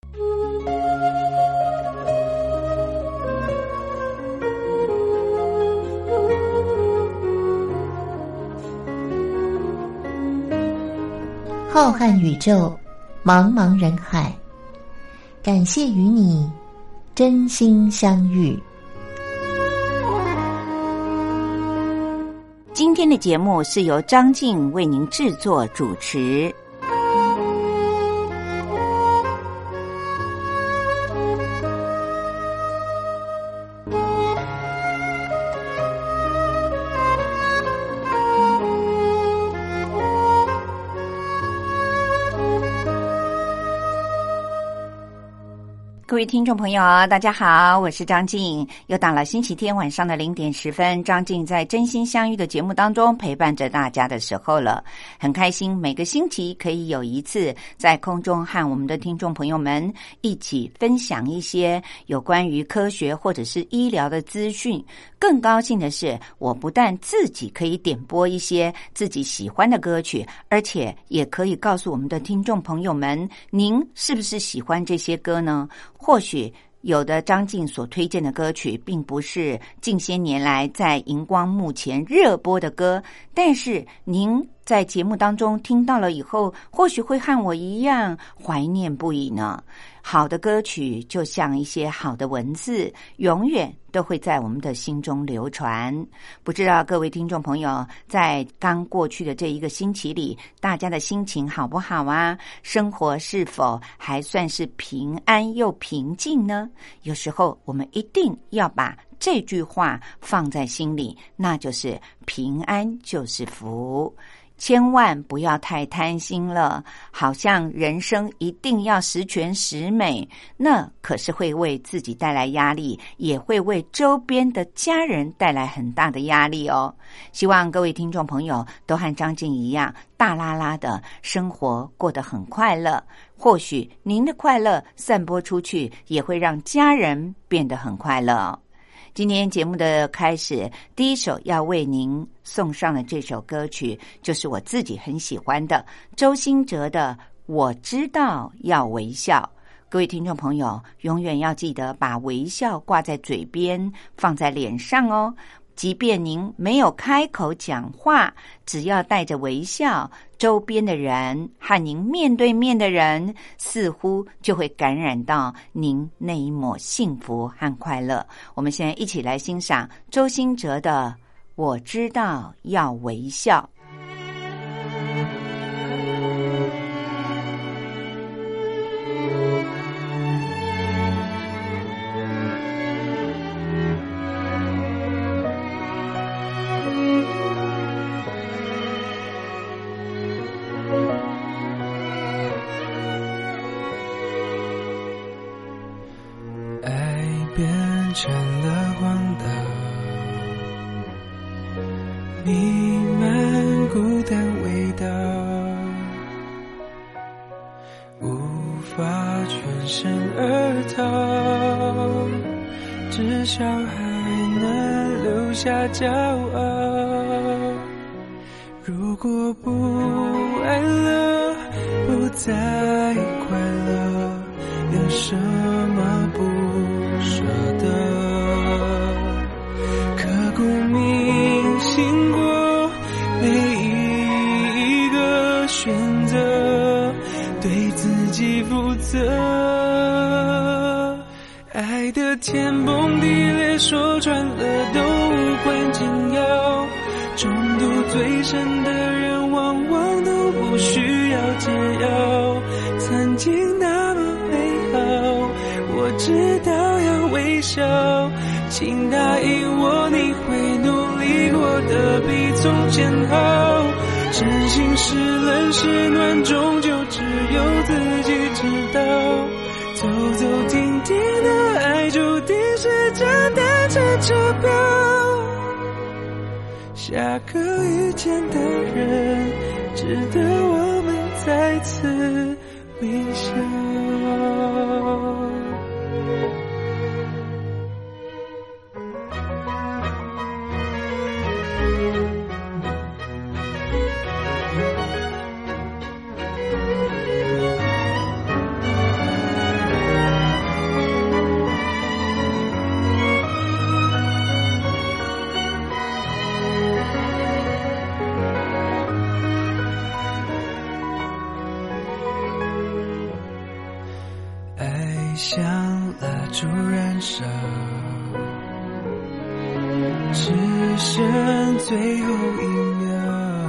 浩瀚宇宙，茫茫人海，感谢与你真心相遇。 今天的节目是由张静为您制作主持。各位听众朋友大家好，我是张静，又到了星期天晚上的0点10分，张静在真心相遇的节目当中陪伴着大家的时候了。很开心每个星期可以有一次在空中和我们的听众朋友们一起分享一些有关于科学或者是医疗的资讯。更高兴的是，我不但自己可以点播一些自己喜欢的歌曲，而且也可以告诉我们的听众朋友们，您是不是喜欢这些歌呢？或许有的张静所推荐的歌曲并不是近些年来在荧光幕前热播的歌，但是您在节目当中听到了以后，或许会和我一样怀念不已呢。好的歌曲就像一些好的文字，永远都会在我们的心中流传。不知道各位听众朋友在刚过去的这一个星期里，大家的心情好不好啊？生活是否还算是平安又平静呢？有时候我们一定要把这句话放在心里，那就是平安就是福。千万不要太贪心了，好像人生一定要十全十美，那可是会为自己带来压力，也会为周边的家人带来很大的压力哦。希望各位听众朋友都和张静一样，大拉拉的生活过得很快乐。或许您的快乐散播出去，也会让家人变得很快乐哦。今天节目的开始，第一首要为您送上的这首歌曲，就是我自己很喜欢的周兴哲的《我知道要微笑》。各位听众朋友，永远要记得把微笑挂在嘴边，放在脸上哦。即便您没有开口讲话，只要带着微笑，周边的人和您面对面的人似乎就会感染到您那一抹幸福和快乐。我们现在一起来欣赏周兴哲的《我知道要微笑》。 成了荒岛，弥漫孤单味道，无法全身而逃，至少还能留下骄傲。如果不爱了，不再快乐，有什么不舍得？刻骨铭心过每一个选择，对自己负责。爱的天崩地裂，说穿了都无关紧要，中毒最深的人往往都不需要解药。曾经那么美好，我知道要微笑，请答应我你会努力过得比从前好。真心是冷是暖，终究只有自己知道。走走停停的爱，注定是张单程车票。下个遇见的人，值得我们再次微笑。 像蜡烛燃烧，只剩最后一秒。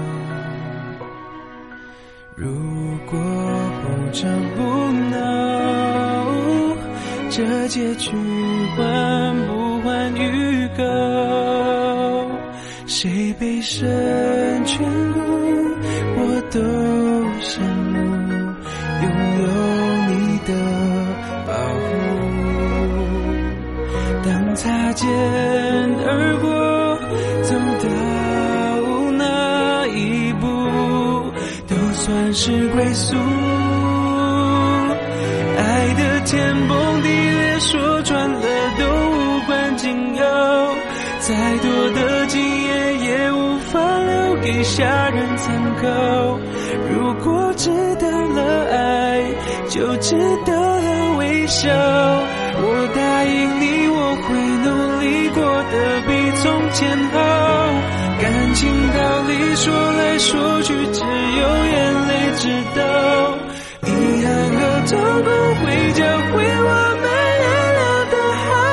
如果不吵不闹，这结局换不换预告？谁被生眷顾，我都羡慕拥有你的保护。当擦肩而过，走到哪一步，都算是归宿。爱的天崩地裂，说穿了都无关紧要，再多的经验也无法留给下人参考。如果值得了爱，就值得了微笑。我答应你，我会努力过得比从前好。感情道理说来说去，只有眼泪知道。遗憾和痛苦会教会我们原谅的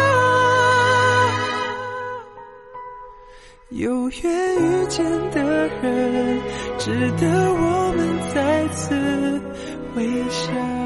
好。有缘遇见的人，值得我们再次微笑。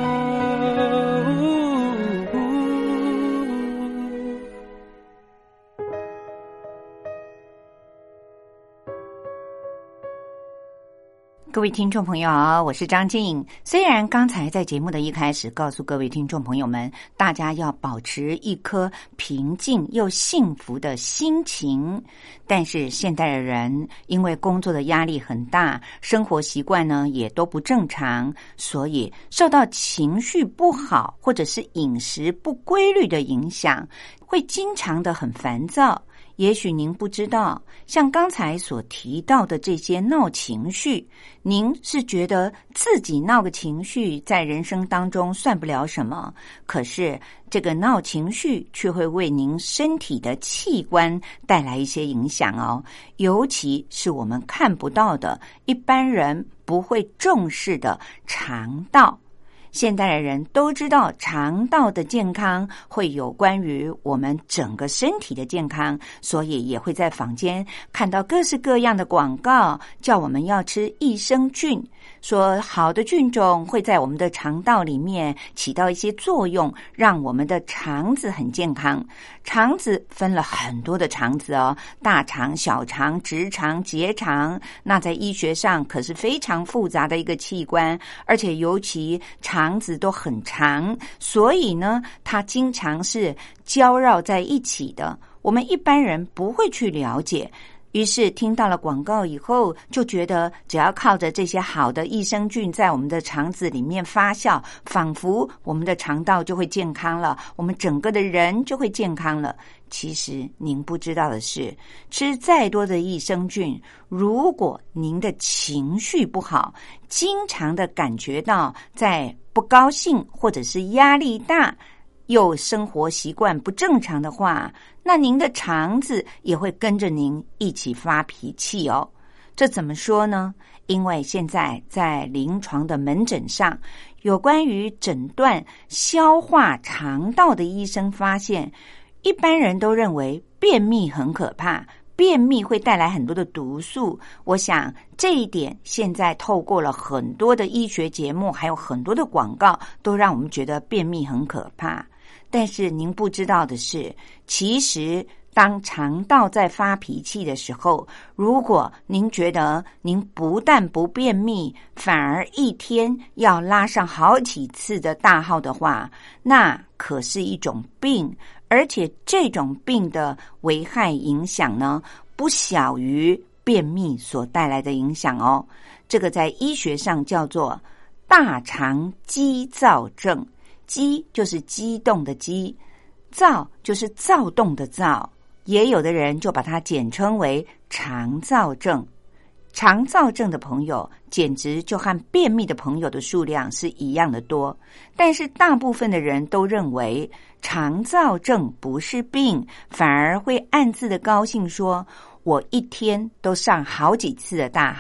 各位听众朋友，我是张静。虽然刚才在节目的一开始告诉各位听众朋友们，大家要保持一颗平静又幸福的心情，但是现代的人因为工作的压力很大，生活习惯呢也都不正常，所以受到情绪不好或者是饮食不规律的影响，会经常的很烦躁。也许您不知道，像刚才所提到的这些闹情绪，您是觉得自己闹个情绪在人生当中算不了什么，可是这个闹情绪却会为您身体的器官带来一些影响哦，尤其是我们看不到的，一般人不会重视的肠道。现代的人都知道肠道的健康会有关于我们整个身体的健康，所以也会在坊间看到各式各样的广告，叫我们要吃益生菌，说好的菌种会在我们的肠道里面起到一些作用，让我们的肠子很健康。肠子分了很多的肠子哦，大肠、小肠、直肠、结肠，那在医学上可是非常复杂的一个器官，而且尤其肠子都很长，所以呢，它经常是交绕在一起的，我们一般人不会去了解。于是听到了广告以后，就觉得只要靠着这些好的益生菌在我们的肠子里面发酵，仿佛我们的肠道就会健康了，我们整个的人就会健康了。其实您不知道的是，吃再多的益生菌，如果您的情绪不好，经常的感觉到在不高兴或者是压力大，又生活习惯不正常的话，那您的肠子也会跟着您一起发脾气哦。这怎么说呢？因为现在在临床的门诊上，有关于诊断消化肠道的医生发现，一般人都认为便秘很可怕，便秘会带来很多的毒素。我想这一点现在透过了很多的医学节目，还有很多的广告，都让我们觉得便秘很可怕。但是您不知道的是，其实当肠道在发脾气的时候，如果您觉得您不但不便秘，反而一天要拉上好几次的大号的话，那可是一种病，而且这种病的危害影响呢，不小于便秘所带来的影响哦。这个在医学上叫做大肠激躁症，激就是激动的激，躁就是躁动的躁，也有的人就把它简称为肠躁症。肠躁症的朋友简直就和便秘的朋友的数量是一样的多，但是大部分的人都认为肠躁症不是病，反而会暗自的高兴说，我一天都上好几次的大号，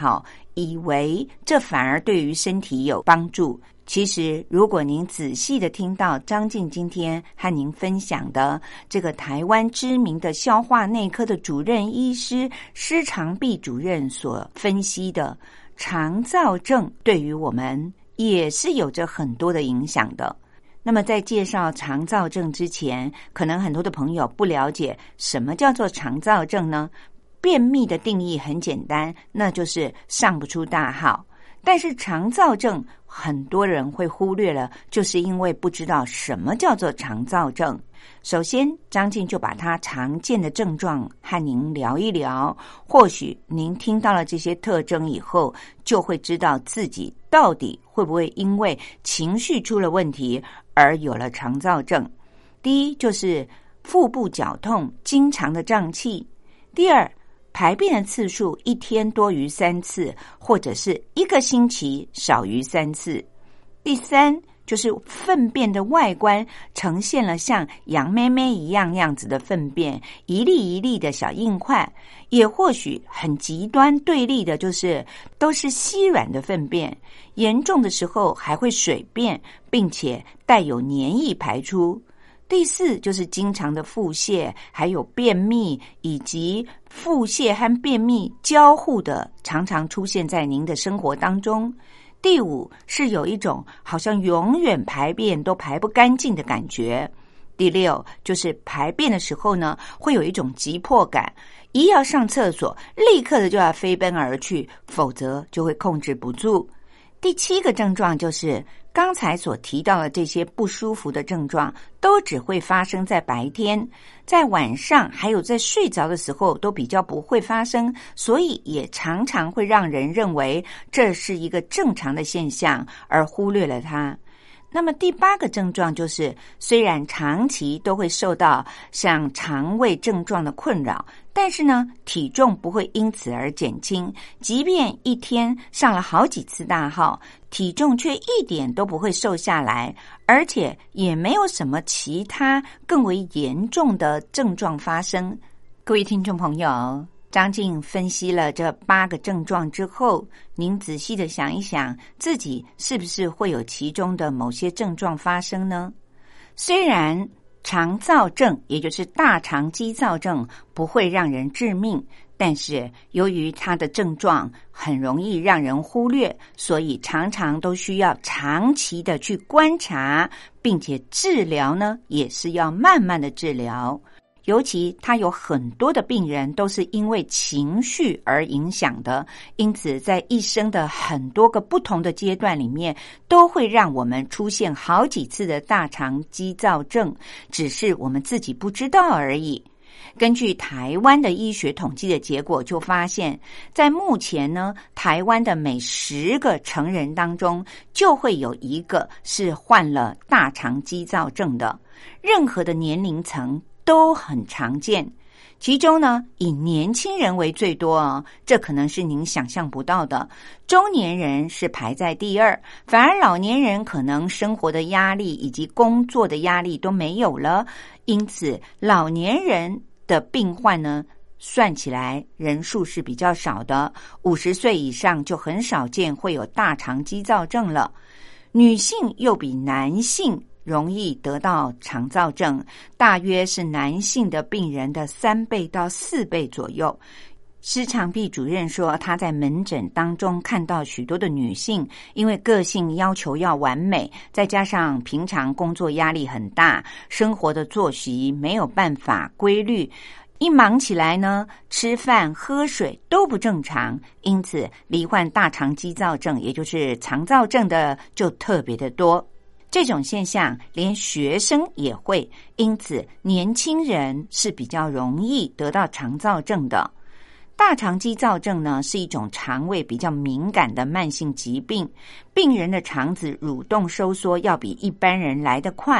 以为这反而对于身体有帮助。其实如果您仔细的听到张静今天和您分享的这个台湾知名的消化内科的主任医师施长碧主任所分析的，肠躁症对于我们也是有着很多的影响的。那么在介绍肠躁症之前，可能很多的朋友不了解什么叫做肠躁症呢？便秘的定义很简单，那就是上不出大号。但是肠躁症很多人会忽略了，就是因为不知道什么叫做肠躁症。首先张静就把它常见的症状和您聊一聊，或许您听到了这些特征以后，就会知道自己到底会不会因为情绪出了问题而有了肠躁症。第一就是腹部绞痛，经常的胀气。第二，排便的次数一天多于3次，或者是1个星期少于3次。第三，就是粪便的外观呈现了像羊妹妹一样子的粪便，一粒一粒的小硬块，也或许很极端对立的就是都是稀软的粪便，严重的时候还会水便，并且带有黏液排出。第四，就是经常的腹泻，还有便秘，以及腹泻和便秘交互的常常出现在您的生活当中。第五，是有一种好像永远排便都排不干净的感觉。第六，就是排便的时候呢，会有一种急迫感，一要上厕所，立刻的就要飞奔而去，否则就会控制不住。第7个症状就是刚才所提到的这些不舒服的症状都只会发生在白天，在晚上还有在睡着的时候都比较不会发生，所以也常常会让人认为这是一个正常的现象而忽略了它。那么第8个症状就是，虽然长期都会受到像肠胃症状的困扰，但是呢，体重不会因此而减轻，即便一天上了好几次大号，体重却一点都不会瘦下来，而且也没有什么其他更为严重的症状发生。各位听众朋友，张静分析了这8个症状之后，您仔细的想一想，自己是不是会有其中的某些症状发生呢？虽然肠躁症，也就是大肠激躁症，不会让人致命，但是由于它的症状很容易让人忽略，所以常常都需要长期的去观察，并且治疗呢，也是要慢慢的治疗。尤其他有很多的病人都是因为情绪而影响的，因此在一生的很多个不同的阶段里面，都会让我们出现好几次的大肠激躁症，只是我们自己不知道而已。根据台湾的医学统计的结果就发现，在目前呢，台湾的每10个成人当中就会有1个是患了大肠激躁症的，任何的年龄层都很常见。其中呢，以年轻人为最多哦，这可能是您想象不到的。中年人是排在第2，反而老年人可能生活的压力以及工作的压力都没有了，因此老年人的病患呢，算起来人数是比较少的，50岁以上就很少见会有大肠激躁症了。女性又比男性容易得到肠躁症，大约是男性的病人的3倍到4倍左右。施长碧主任说，他在门诊当中看到许多的女性，因为个性要求要完美，再加上平常工作压力很大，生活的作息没有办法规律，一忙起来呢，吃饭喝水都不正常，因此罹患大肠激躁症，也就是肠躁症的就特别的多。这种现象连学生也会，因此年轻人是比较容易得到肠躁症的。大肠激躁症呢，是一种肠胃比较敏感的慢性疾病，病人的肠子蠕动收缩要比一般人来得快，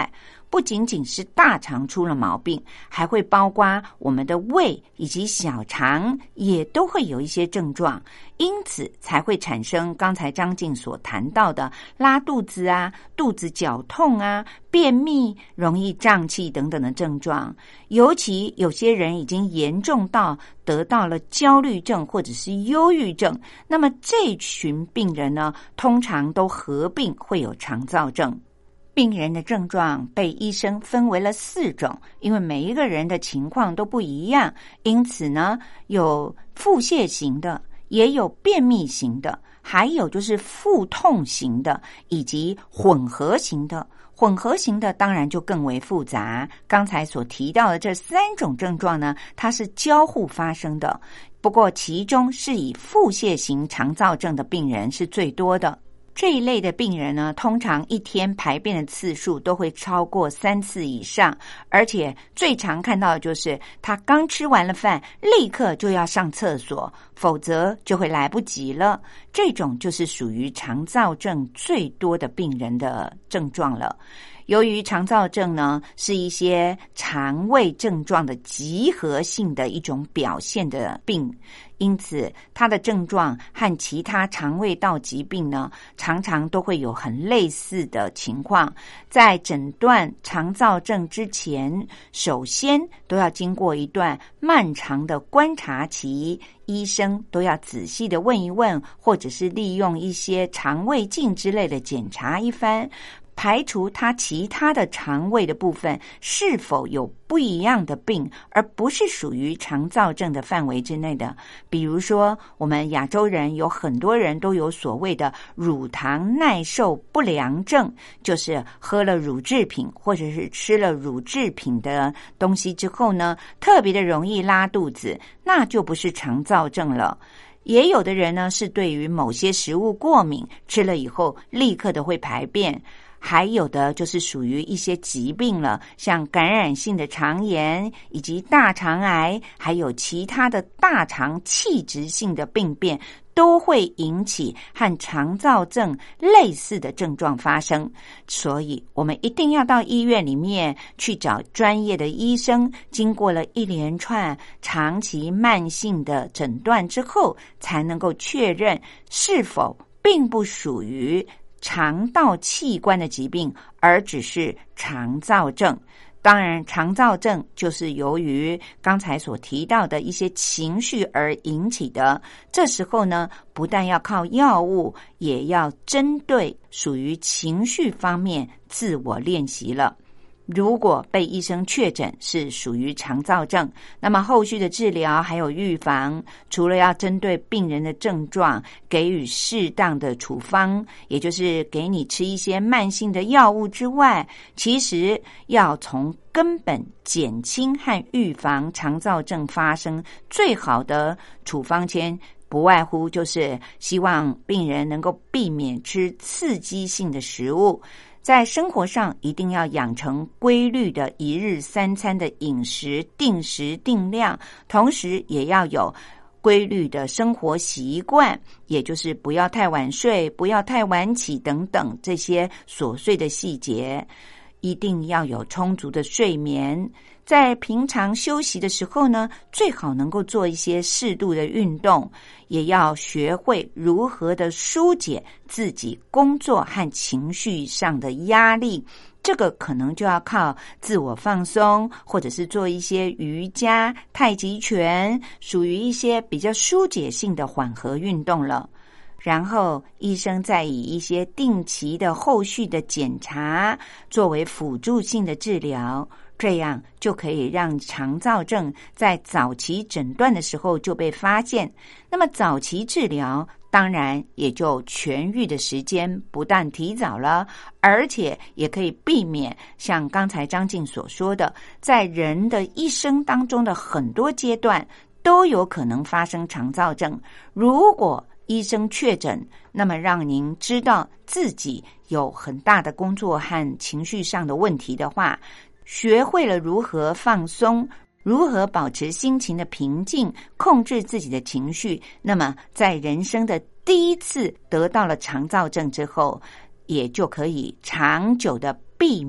不仅仅是大肠出了毛病，还会包括我们的胃以及小肠也都会有一些症状，因此才会产生刚才张静所谈到的拉肚子啊、肚子绞痛啊、便秘、容易胀气等等的症状。尤其有些人已经严重到得到了焦虑症或者是忧郁症，那么这群病人呢，通常都合并会有肠躁症。病人的症状被医生分为了4种，因为每一个人的情况都不一样，因此呢，有腹泻型的，也有便秘型的，还有就是腹痛型的，以及混合型的。混合型的当然就更为复杂，刚才所提到的这3种症状呢，它是交互发生的，不过其中是以腹泻型肠躁症的病人是最多的。这一类的病人呢，通常一天排便的次数都会超过3次以上，而且最常看到的就是他刚吃完了饭，立刻就要上厕所，否则就会来不及了。这种就是属于肠躁症最多的病人的症状了。由于肠躁症呢，是一些肠胃症状的集合性的一种表现的病，因此它的症状和其他肠胃道疾病呢，常常都会有很类似的情况。在诊断肠躁症之前，首先都要经过一段漫长的观察期，医生都要仔细的问一问，或者是利用一些肠胃镜之类的检查一番，排除他其他的肠胃的部分是否有不一样的病，而不是属于肠躁症的范围之内的。比如说，我们亚洲人有很多人都有所谓的乳糖耐受不良症，就是喝了乳制品或者是吃了乳制品的东西之后呢，特别的容易拉肚子，那就不是肠躁症了。也有的人呢，是对于某些食物过敏，吃了以后立刻的会排便。还有的就是属于一些疾病了，像感染性的肠炎以及大肠癌，还有其他的大肠器质性的病变，都会引起和肠躁症类似的症状发生。所以我们一定要到医院里面去找专业的医生，经过了一连串长期慢性的诊断之后，才能够确认是否并不属于肠道器官的疾病，而只是肠躁症。当然，肠躁症就是由于刚才所提到的一些情绪而引起的。这时候呢，不但要靠药物，也要针对属于情绪方面自我练习了。如果被医生确诊是属于肠躁症，那么后续的治疗还有预防，除了要针对病人的症状给予适当的处方，也就是给你吃一些慢性的药物之外，其实要从根本减轻和预防肠躁症发生，最好的处方签不外乎就是希望病人能够避免吃刺激性的食物，在生活上一定要养成规律的1日3餐的饮食，定时定量，同时也要有规律的生活习惯，也就是不要太晚睡，不要太晚起等等这些琐碎的细节，一定要有充足的睡眠。在平常休息的时候呢，最好能够做一些适度的运动，也要学会如何的疏解自己工作和情绪上的压力。这个可能就要靠自我放松，或者是做一些瑜伽、太极拳，属于一些比较疏解性的缓和运动了。然后医生再以一些定期的后续的检查作为辅助性的治疗，这样就可以让肠躁症在早期诊断的时候就被发现。那么早期治疗当然也就痊愈的时间不但提早了，而且也可以避免像刚才张静所说的，在人的一生当中的很多阶段都有可能发生肠躁症。如果医生确诊，那么让您知道自己有很大的工作和情绪上的问题的话，学会了如何放松，如何保持心情的平静，控制自己的情绪，那么在人生的第一次得到了肠躁症之后，也就可以长久的避免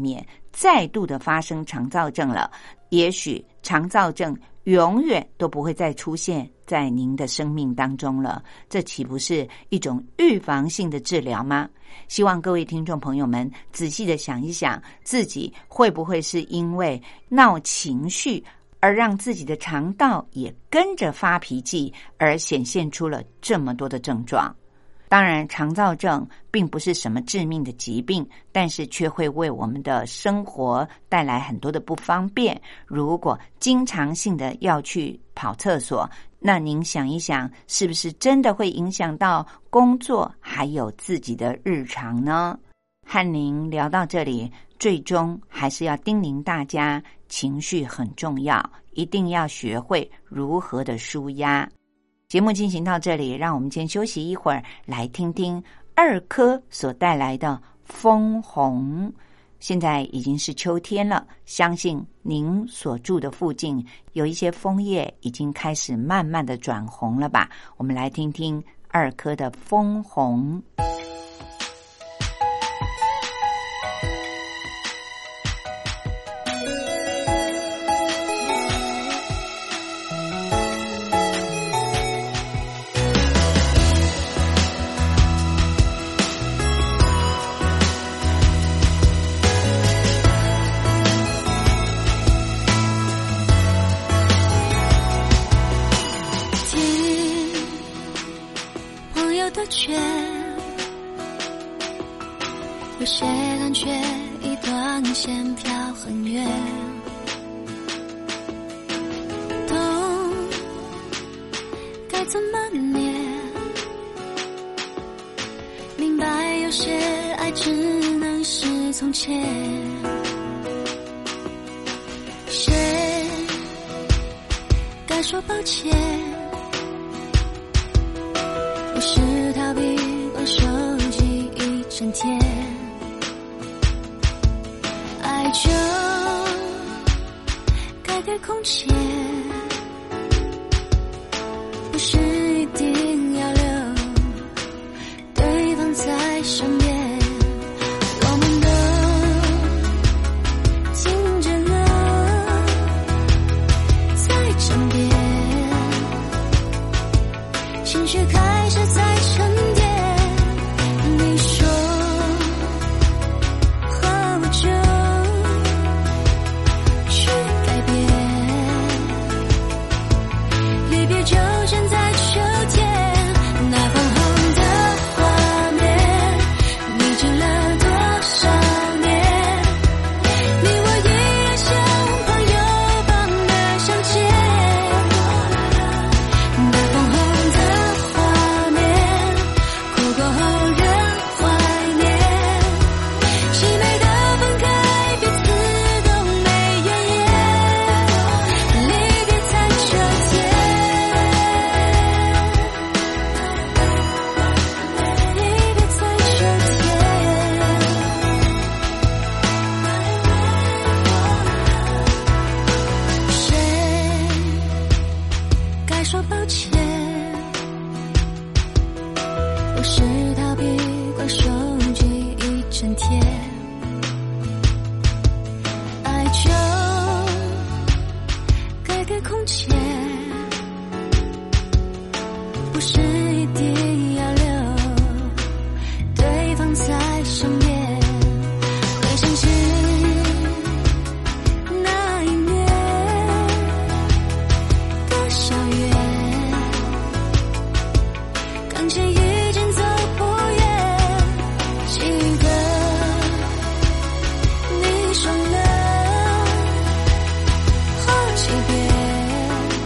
再度的发生肠躁症了，也许肠躁症永远都不会再出现在您的生命当中了，这岂不是一种预防性的治疗吗？希望各位听众朋友们仔细的想一想，自己会不会是因为闹情绪而让自己的肠道也跟着发脾气，而显现出了这么多的症状。当然，肠躁症并不是什么致命的疾病，但是却会为我们的生活带来很多的不方便。如果经常性的要去跑厕所，那您想一想，是不是真的会影响到工作还有自己的日常呢？和您聊到这里，最终还是要叮咛大家，情绪很重要，一定要学会如何的抒压。节目进行到这里，让我们先休息一会儿，来听听二科所带来的枫红。现在已经是秋天了，相信您所住的附近有一些枫叶已经开始慢慢的转红了吧？我们来听听二科的枫红。 有些感觉一段线飘很远，懂该怎么念，明白有些爱只能是从前，谁该说抱歉，不是逃避玩手机一整天，爱就该给空间，不是一定要留对方在身边，我们都经着了在枕边，情绪开始在沉淀，你说和我就去改变，离别就选在秋天，那粉红的画面你记了多少年，你我依然像朋友般的相见，那粉红的画面哭过后人怀念，凄美的分开彼此都没怨言，离别在秋天，离别在秋天，谁该说抱歉，不是逃避关手机一整天，爱就该给空间，不是一定要留对方在身边，会想起那一年的校园，刚见已经走不远，记得你说了好几遍，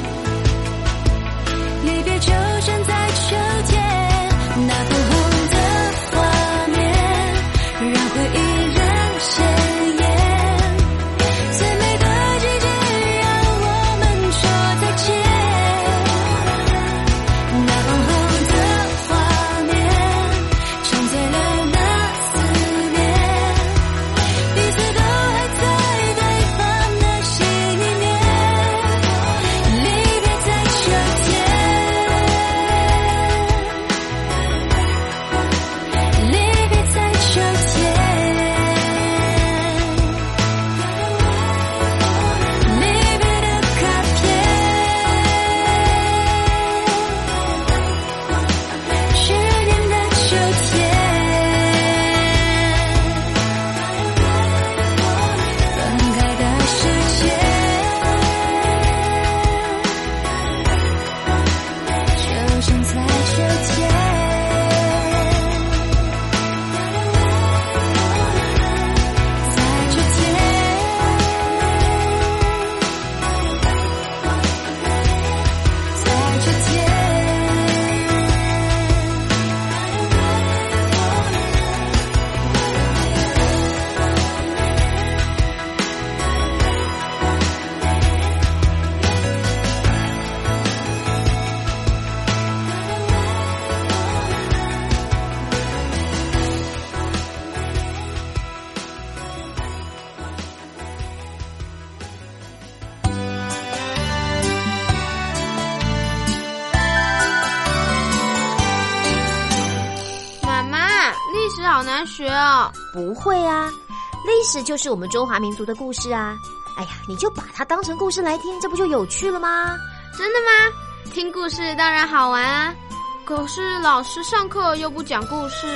难学啊。 不会啊，历史就是我们中华民族的故事啊。哎呀，你就把它当成故事来听，这不就有趣了吗？ 真的吗？听故事当然好玩啊，可是老师上课又不讲故事。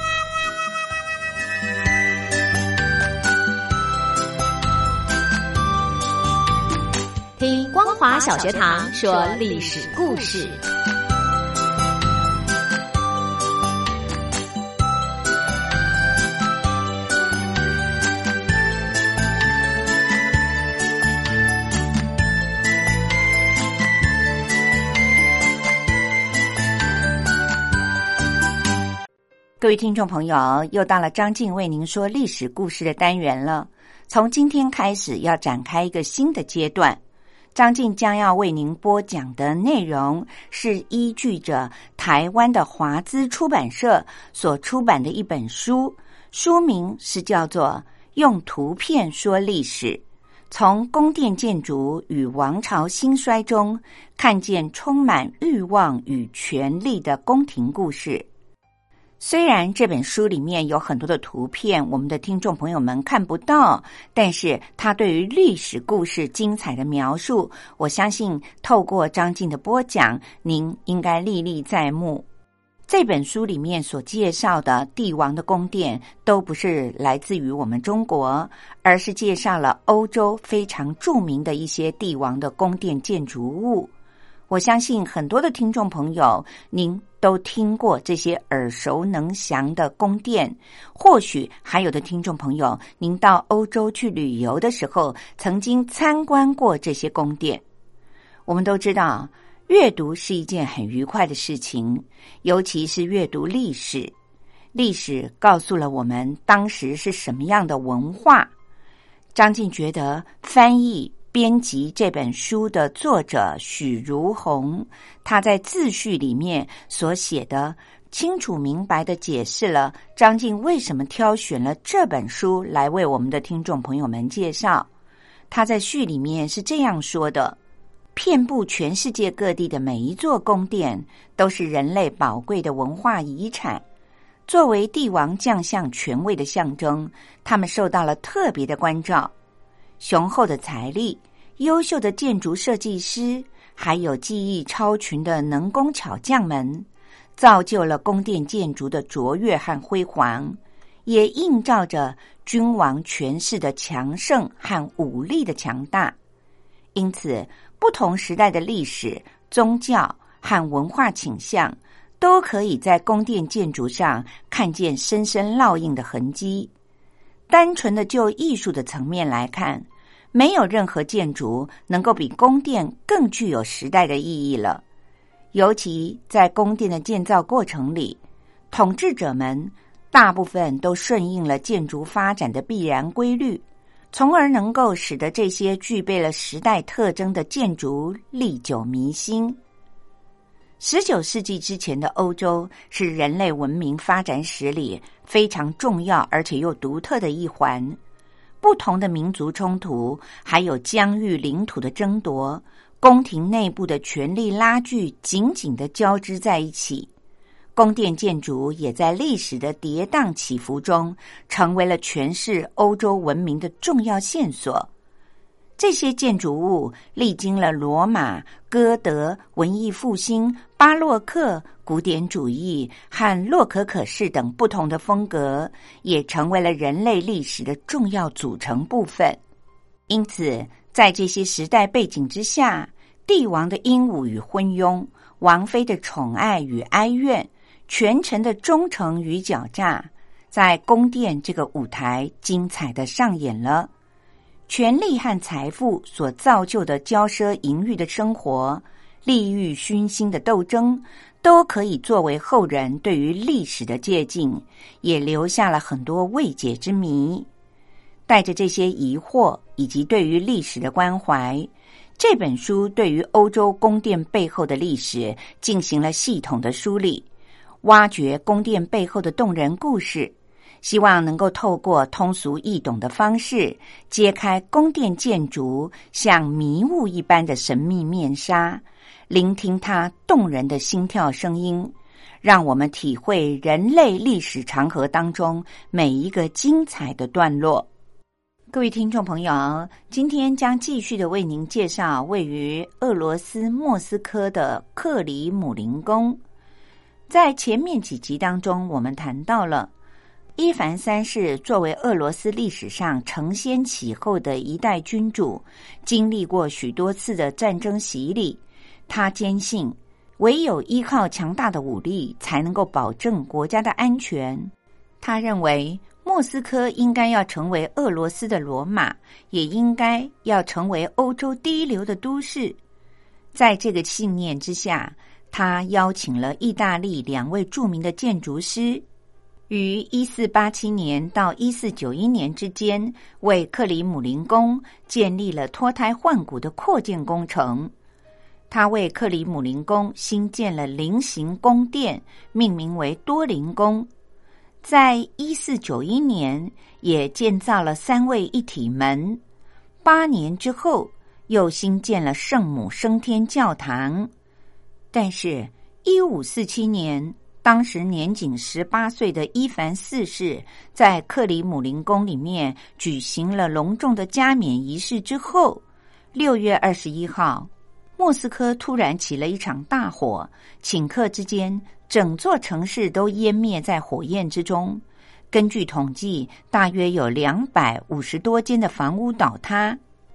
听光华小学堂说历史故事。 各位听众朋友，又到了张静为您说历史故事的单元了。从今天开始要展开一个新的阶段，张静将要为您播讲的内容是依据着台湾的华资出版社所出版的一本书，书名是叫做《用图片说历史：从宫殿建筑与王朝兴衰中看见充满欲望与权力的宫廷故事》。虽然这本书里面有很多的图片，我们的听众朋友们看不到，但是它对于历史故事精彩的描述，我相信透过张静的播讲，您应该历历在目。这本书里面所介绍的帝王的宫殿都不是来自于我们中国，而是介绍了欧洲非常著名的一些帝王的宫殿建筑物。我相信很多的听众朋友，您都听过这些耳熟能详的宫殿，或许还有的听众朋友，您到欧洲去旅游的时候，曾经参观过这些宫殿。我们都知道，阅读是一件很愉快的事情，尤其是阅读历史。历史告诉了我们当时是什么样的文化。张静觉得翻译编辑这本书的作者许如红，他在自序里面所写的清楚明白地解释了张静为什么挑选了这本书来为我们的听众朋友们介绍。他在序里面是这样说的：遍布全世界各地的每一座宫殿都是人类宝贵的文化遗产，作为帝王将相权位的象征，他们受到了特别的关照。雄厚的财力、优秀的建筑设计师，还有技艺超群的能工巧匠们，造就了宫殿建筑的卓越和辉煌，也映照着君王权势的强盛和武力的强大。因此，不同时代的历史、宗教和文化倾向，都可以在宫殿建筑上看见深深烙印的痕迹。单纯的就艺术的层面来看，没有任何建筑能够比宫殿更具有时代的意义了。尤其在宫殿的建造过程里，统治者们大部分都顺应了建筑发展的必然规律，从而能够使得这些具备了时代特征的建筑历久弥新。19世纪之前的欧洲是人类文明发展史里非常重要而且又独特的一环。不同的民族冲突，还有疆域领土的争夺，宫廷内部的权力拉锯紧紧地交织在一起。宫殿建筑也在历史的跌宕起伏中，成为了诠释欧洲文明的重要线索。这些建筑物历经了罗马、哥德、文艺复兴、巴洛克、古典主义和洛可可式等不同的风格，也成为了人类历史的重要组成部分。因此，在这些时代背景之下，帝王的英武与昏庸，王妃的宠爱与哀怨，权臣的忠诚与狡诈，在宫殿这个舞台精彩地上演了。权力和财富所造就的骄奢淫欲的生活，利欲熏心的斗争，都可以作为后人对于历史的借鉴，也留下了很多未解之谜。带着这些疑惑以及对于历史的关怀，这本书对于欧洲宫殿背后的历史进行了系统的梳理，挖掘宫殿背后的动人故事，希望能够透过通俗易懂的方式，揭开宫殿建筑像迷雾一般的神秘面纱，聆听它动人的心跳声音， 让我们体会人类历史长河当中每一个精彩的段落。各位听众朋友，今天将继续的为您介绍位于俄罗斯莫斯科的克里姆林宫。在前面几集当中，我们谈到了伊凡三世作为俄罗斯历史上承先启后的一代君主，经历过许多次的战争洗礼。他坚信唯有依靠强大的武力才能够保证国家的安全。他认为莫斯科应该要成为俄罗斯的罗马，也应该要成为欧洲第一流的都市。在这个信念之下，他邀请了意大利2位著名的建筑师，于1487年到1491年之间，为克里姆林宫建立了脱胎换骨的扩建工程。他为克里姆林宫新建了菱形宫殿，命名为多林宫。在1491年，也建造了3位一体门。8年之后，又新建了圣母升天教堂。但是1547年，当时年仅18岁的伊凡四世在克里姆林宫里面举行了隆重的加冕仪式之后，6月21号，莫斯科突然起了一场大火，顷刻之间，整座城市都湮灭在火焰之中。根据统计，大约有250多间的房屋倒塌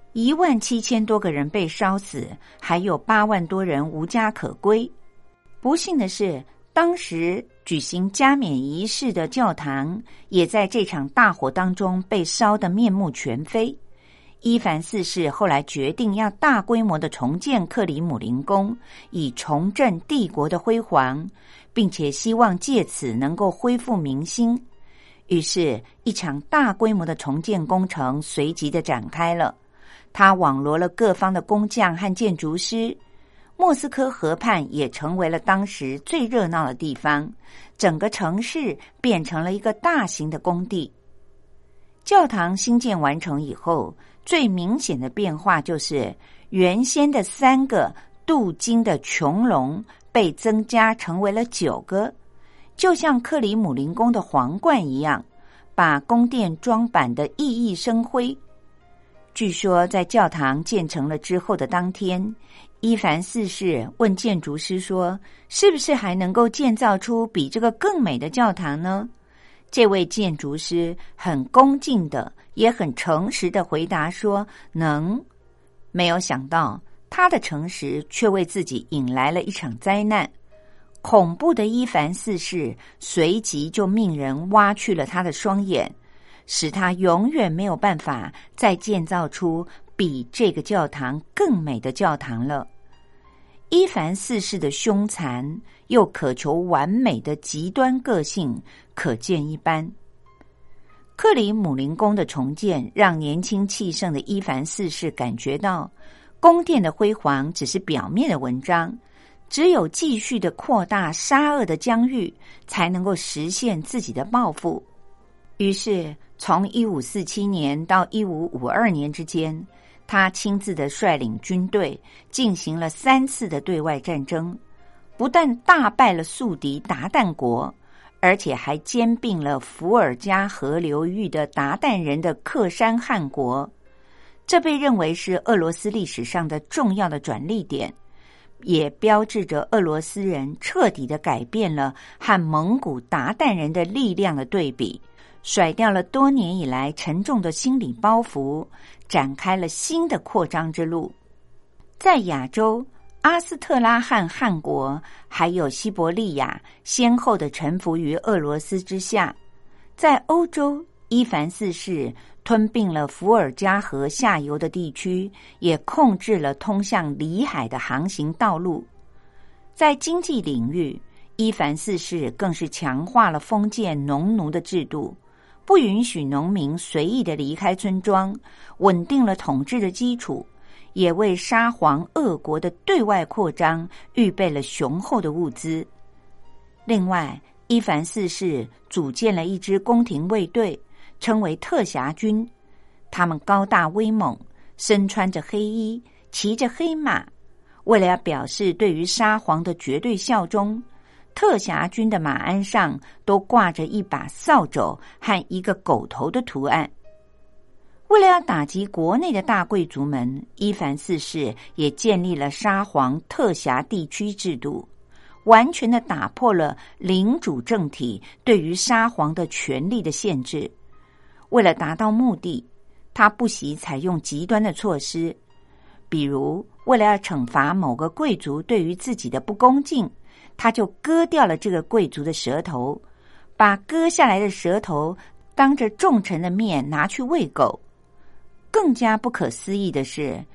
，17000多个人被烧死，还有8万多人无家可归。不幸的是，当时举行加冕仪式的教堂也在这场大火当中被烧得面目全非。伊凡四世后来决定要大规模的重建克里姆林宫，以重振帝国的辉煌，并且希望借此能够恢复民心。于是，一场大规模的重建工程随即的展开了。他网罗了各方的工匠和建筑师。莫斯科河畔也成为了当时最热闹的地方，整个城市变成了一个大型的工地。教堂兴建完成以后，最明显的变化就是原先的3个镀金的穹隆被增加成为了9个，就像克里姆林宫的皇冠一样，把宫殿装扮得熠熠生辉。据说在教堂建成了之后的当天，伊凡四世问建筑师说，是不是还能够建造出比这个更美的教堂呢？这位建筑师很恭敬的也很诚实的回答说能。没有想到他的诚实却为自己引来了一场灾难。恐怖的伊凡四世随即就命人挖去了他的双眼，使他永远没有办法再建造出比这个教堂更美的教堂了。伊凡四世的凶残又渴求完美的极端个性可见一斑。克里姆林宫的重建让年轻气盛的伊凡四世感觉到，宫殿的辉煌只是表面的文章，只有继续的扩大杀恶的疆域，才能够实现自己的抱负。于是从1547年到1552年之间，他亲自的率领军队进行了3次的对外战争，不但大败了宿敌鞑靼国，而且还兼并了伏尔加河流域的鞑靼人的克山汗国。这被认为是俄罗斯历史上的重要的转捩点，也标志着俄罗斯人彻底的改变了和蒙古鞑靼人的力量的对比，甩掉了多年以来沉重的心理包袱，展开了新的扩张之路。在亚洲，阿斯特拉罕汗国还有西伯利亚先后的臣服于俄罗斯之下。在欧洲，伊凡四世吞并了伏尔加河下游的地区，也控制了通向里海的航行道路。在经济领域，伊凡四世更是强化了封建农奴的制度，不允许农民随意的离开村庄，稳定了统治的基础，也为沙皇俄国的对外扩张预备了雄厚的物资。另外，伊凡四世组建了一支宫廷卫队，称为特辖军。他们高大威猛，身穿着黑衣，骑着黑马。为了要表示对于沙皇的绝对效忠， 特辖军的马鞍上都挂着一把扫帚和一个狗头的图案。为了要打击国内的大贵族们，伊凡四世也建立了沙皇特辖地区制度，完全的打破了领主政体对于沙皇的权力的限制。为了达到目的，他不惜采用极端的措施，比如为了要惩罚某个贵族对于自己的不恭敬，他就割掉了这个贵族的舌头，把割下来的舌头当着众臣的面拿去喂狗。更加不可思议的是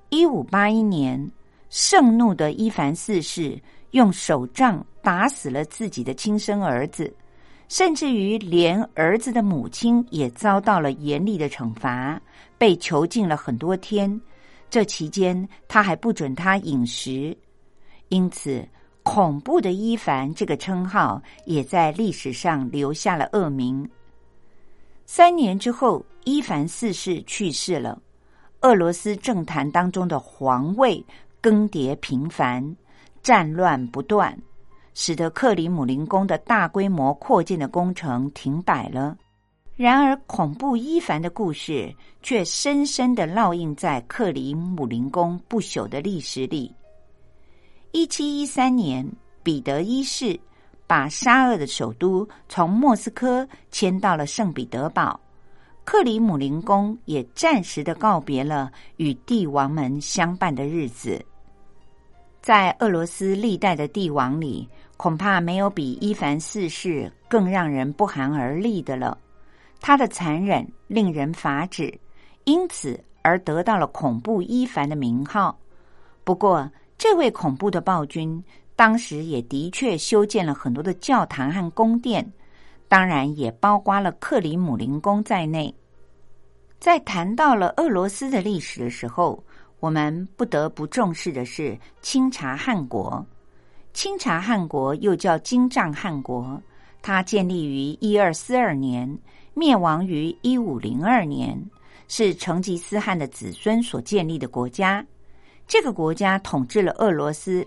，1581年，盛怒的伊凡四世用手杖打死了自己的亲生儿子，甚至于连儿子的母亲也遭到了严厉的惩罚，被囚禁了很多天。这期间，他还不准他饮食，因此恐怖的伊凡这个称号也在历史上留下了恶名。3年之后，伊凡四世去世了，俄罗斯政坛当中的皇位更迭频繁，战乱不断，使得克里姆林宫的大规模扩建的工程停摆了。然而恐怖伊凡的故事却深深地烙印在克里姆林宫不朽的历史里。1713年，彼得一世把沙俄的首都从莫斯科迁到了圣彼得堡，克里姆林宫也暂时的告别了与帝王们相伴的日子。在俄罗斯历代的帝王里，恐怕没有比伊凡四世更让人不寒而栗的了。他的残忍令人发指，因此而得到了恐怖伊凡的名号。不过，这位恐怖的暴君当时也的确修建了很多的教堂和宫殿，当然也包括了克里姆林宫在内。在谈到了俄罗斯的历史的时候，我们不得不重视的是清察汗国。清察汗国又叫金帐汗国，它建立于1242年，灭亡于1502年，是成吉思汗的子孙所建立的国家。这个国家统治了俄罗斯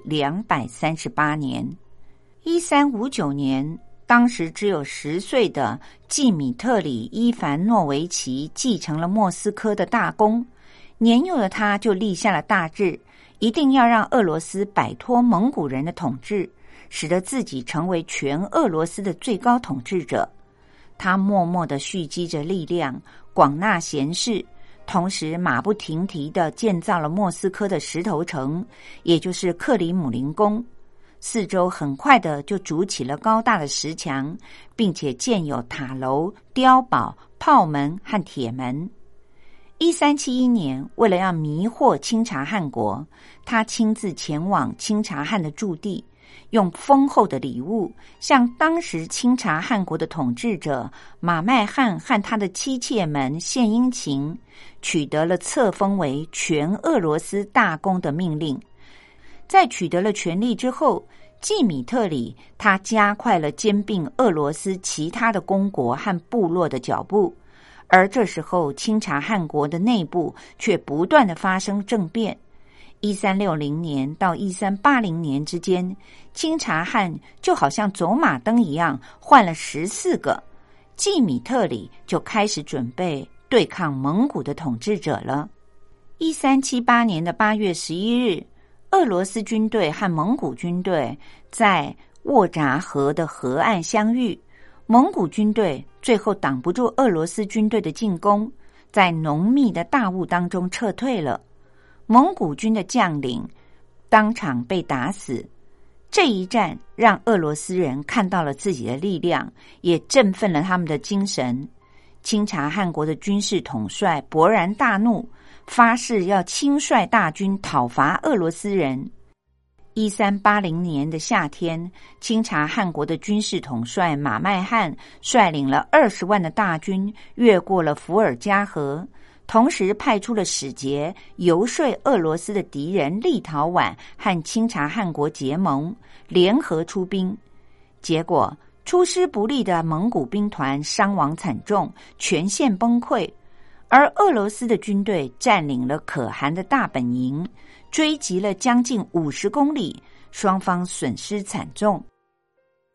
238年。1359年，当时只有10岁的季米特里·伊凡诺维奇继承了莫斯科的大功。年幼的他就立下了大志，一定要让俄罗斯摆脱蒙古人的统治，使得自己成为全俄罗斯的最高统治者。他默默地蓄积着力量，广纳贤士，同时马不停蹄地建造了莫斯科的石头城，也就是克里姆林宫。四周很快的就筑起了高大的石墙，并且建有塔楼、碉堡、炮门和铁门。1371年，为了要迷惑清察汗国，他亲自前往清察汗的驻地，用丰厚的礼物向当时清察汗国的统治者马麦汗和他的妻妾们献殷勤，取得了册封为全俄罗斯大公的命令。在取得了权力之后，季米特里他加快了兼并俄罗斯其他的公国和部落的脚步，而这时候清察汗国的内部却不断的发生政变。1360年到1380年之间，清察汗就好像走马灯一样换了14个，季米特里就开始准备对抗蒙古的统治者了。1378年的8月11日，俄罗斯军队和蒙古军队在沃札河的河岸相遇，蒙古军队最后挡不住俄罗斯军队的进攻，在浓密的大雾当中撤退了。蒙古军的将领当场被打死。这一战让俄罗斯人看到了自己的力量，也振奋了他们的精神。清察汗国的军事统帅勃然大怒，发誓要亲率大军讨伐俄罗斯人。1380年的夏天，清察汗国的军事统帅马麦汗率领了20万的大军越过了伏尔加河，同时派出了使节游说俄罗斯的敌人立陶宛和清察汗国结盟，联合出兵。结果出师不利的蒙古兵团伤亡惨重，全线崩溃，而俄罗斯的军队占领了可汗的大本营，追击了将近50公里，双方损失惨重。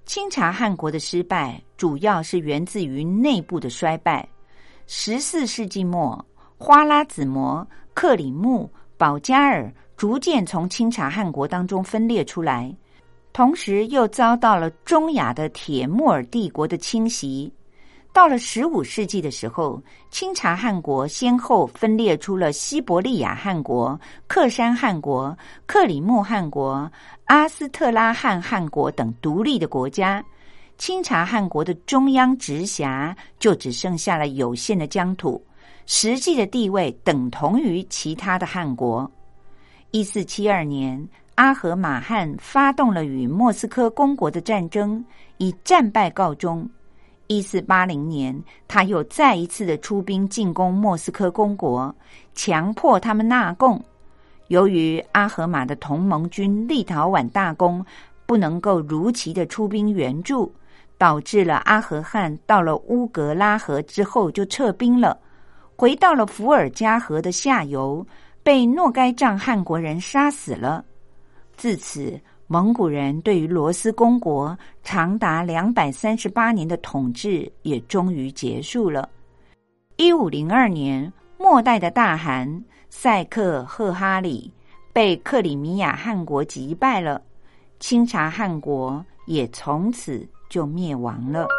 清查汗国的失败主要是源自于内部的衰败。14世纪末，花剌子模、克里木、保加尔逐渐从清查汗国当中分裂出来，同时又遭到了中亚的铁木尔帝国的侵袭。到了15世纪的时候，清查汗国先后分裂出了西伯利亚汗国、克山汗国、克里木汗国、阿斯特拉罕汗国等独立的国家。清查汗国的中央直辖就只剩下了有限的疆土，实际的地位等同于其他的汗国。1472年，阿合马汗发动了与莫斯科公国的战争，以战败告终。1480年，他又再一次的出兵进攻莫斯科公国，强迫他们纳贡。由于阿合马的同盟军立陶宛大公不能够如期的出兵援助，导致了阿合汗到了乌格拉河之后就撤兵了，回到了伏尔加河的下游，被诺该帐汗国人杀死了。自此，蒙古人对于罗斯公国长达238年的统治也终于结束了。1502年，末代的大汗塞克赫哈里被克里米亚汗国击败了，清查汗国也从此就灭亡了。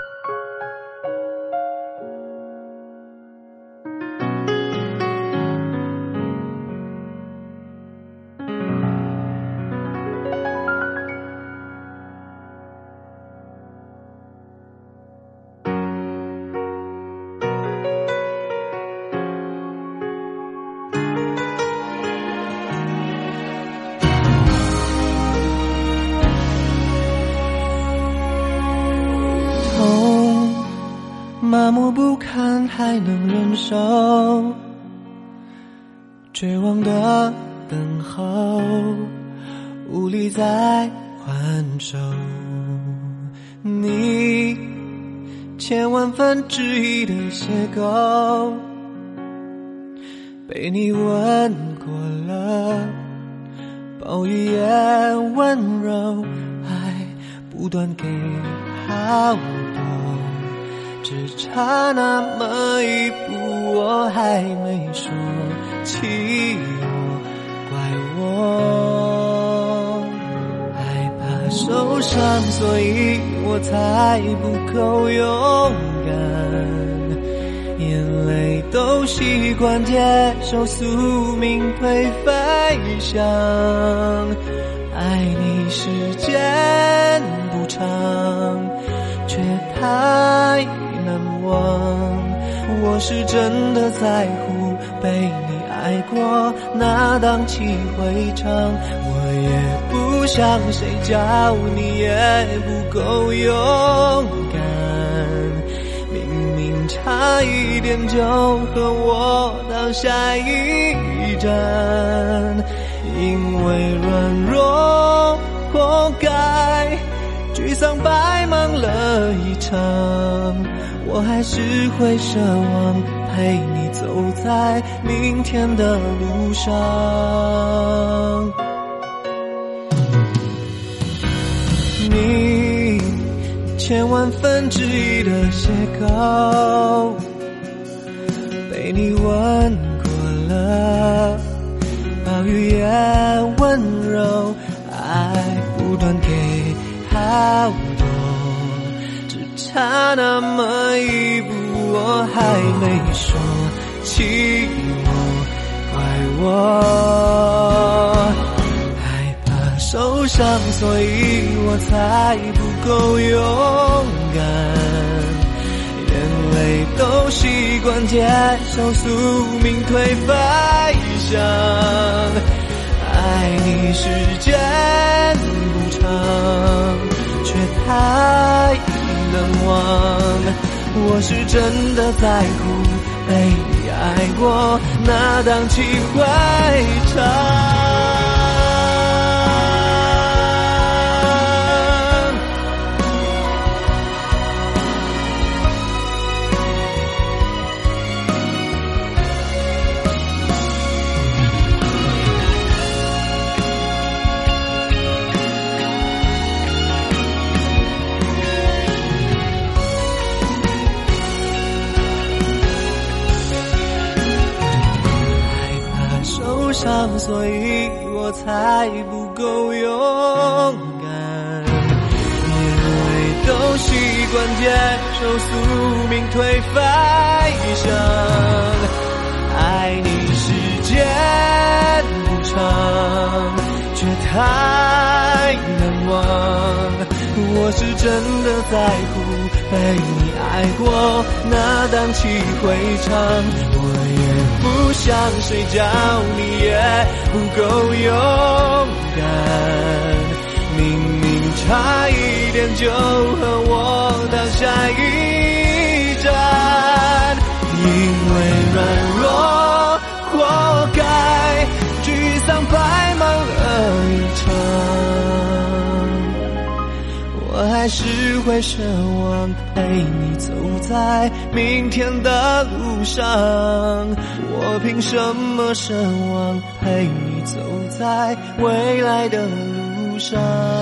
麻木不堪还能忍受，绝望的等候，无力再还手。你千万分之一的邂逅，被你吻过了，暴雨也温柔，爱不断给好多，只差那么一步，我还没说起我，怪我害怕受伤，所以我才不够勇敢，眼泪都习惯接受宿命颓废想，爱你时间不长，却太难忘。我是真的在乎被你爱过，那荡气回肠，我也不像谁叫你也不够勇敢，明明差一点就和我到下一站，因为软弱活该沮丧白忙了一场，我还是会奢望陪你走在明天的路上。你千万分之一的邂逅，被你吻过了，暴雨也温柔，爱不断给好多，只差那么一步，我还没说起我，怪我害怕受伤，所以我才不够勇敢，眼泪都习惯接受宿命颓废想，爱你时间不长，却太难忘。我是真的在乎被你爱过，那荡气回肠。 上，所以我才不够勇敢。因为都习惯接受宿命推翻一生，爱你时间不长，却太难忘。我是真的在乎被你爱过，那荡气回肠。我也不像谁叫你也不够勇敢，明明差一点就和我当下一战，因为软弱活该沮丧白忙了一场。我还是会奢望陪你走在明天的路上，我凭什么奢望陪你走在未来的路上？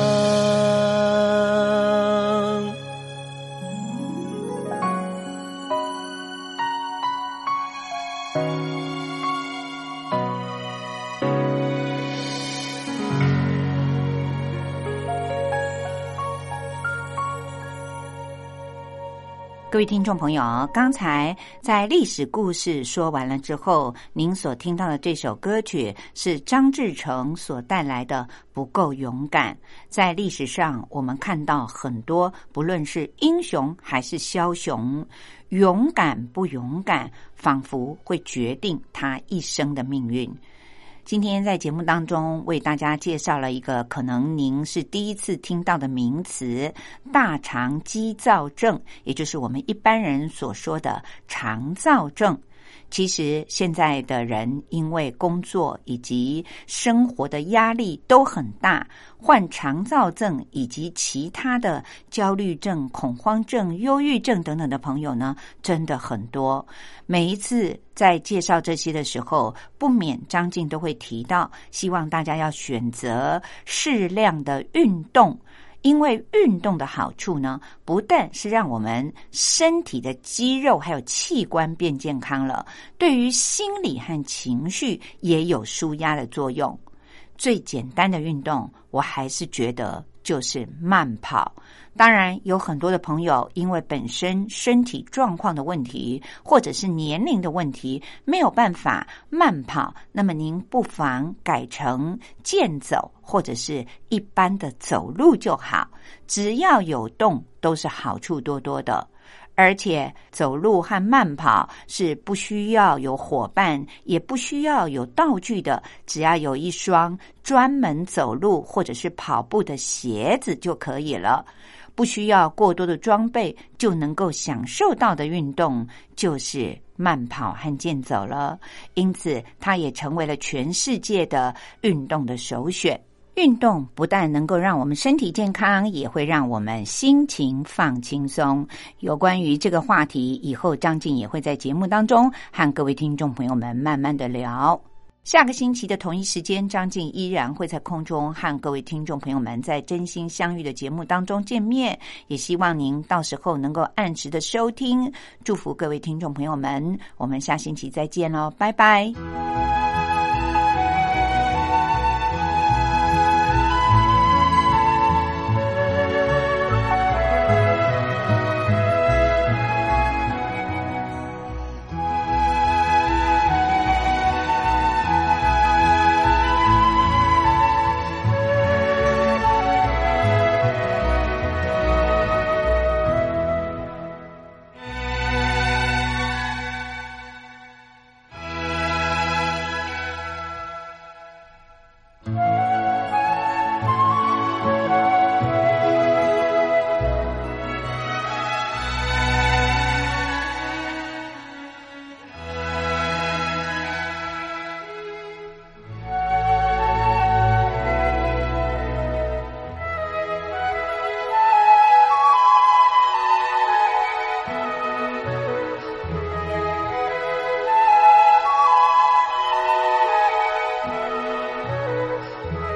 各位听众朋友，刚才在历史故事说完了之后，您所听到的这首歌曲是张志成所带来的《不够勇敢》。在历史上，我们看到很多，不论是英雄还是枭雄，勇敢不勇敢，仿佛会决定他一生的命运。今天在节目当中为大家介绍了一个可能您是第一次听到的名词——大肠激躁症，也就是我们一般人所说的肠躁症。其实现在的人因为工作以及生活的压力都很大，患肠躁症以及其他的焦虑症、恐慌症、忧郁症等等的朋友呢，真的很多。每一次在介绍这些的时候，不免张静都会提到，希望大家要选择适量的运动。因为运动的好处呢，不但是让我们身体的肌肉还有器官变健康了，对于心理和情绪也有舒压的作用。最简单的运动，我还是觉得就是慢跑。当然有很多的朋友因为本身身体状况的问题或者是年龄的问题没有办法慢跑，那么您不妨改成健走或者是一般的走路就好，只要有动都是好处多多的。而且走路和慢跑是不需要有伙伴，也不需要有道具的，只要有一双专门走路或者是跑步的鞋子就可以了。不需要过多的装备就能够享受到的运动就是慢跑和健走了，因此它也成为了全世界的运动的首选。运动不但能够让我们身体健康，也会让我们心情放轻松。有关于这个话题，以后张静也会在节目当中和各位听众朋友们慢慢的聊。下个星期的同一时间，张静依然会在空中和各位听众朋友们在真心相遇的节目当中见面，也希望您到时候能够按时的收听。祝福各位听众朋友们，我们下星期再见咯，拜拜。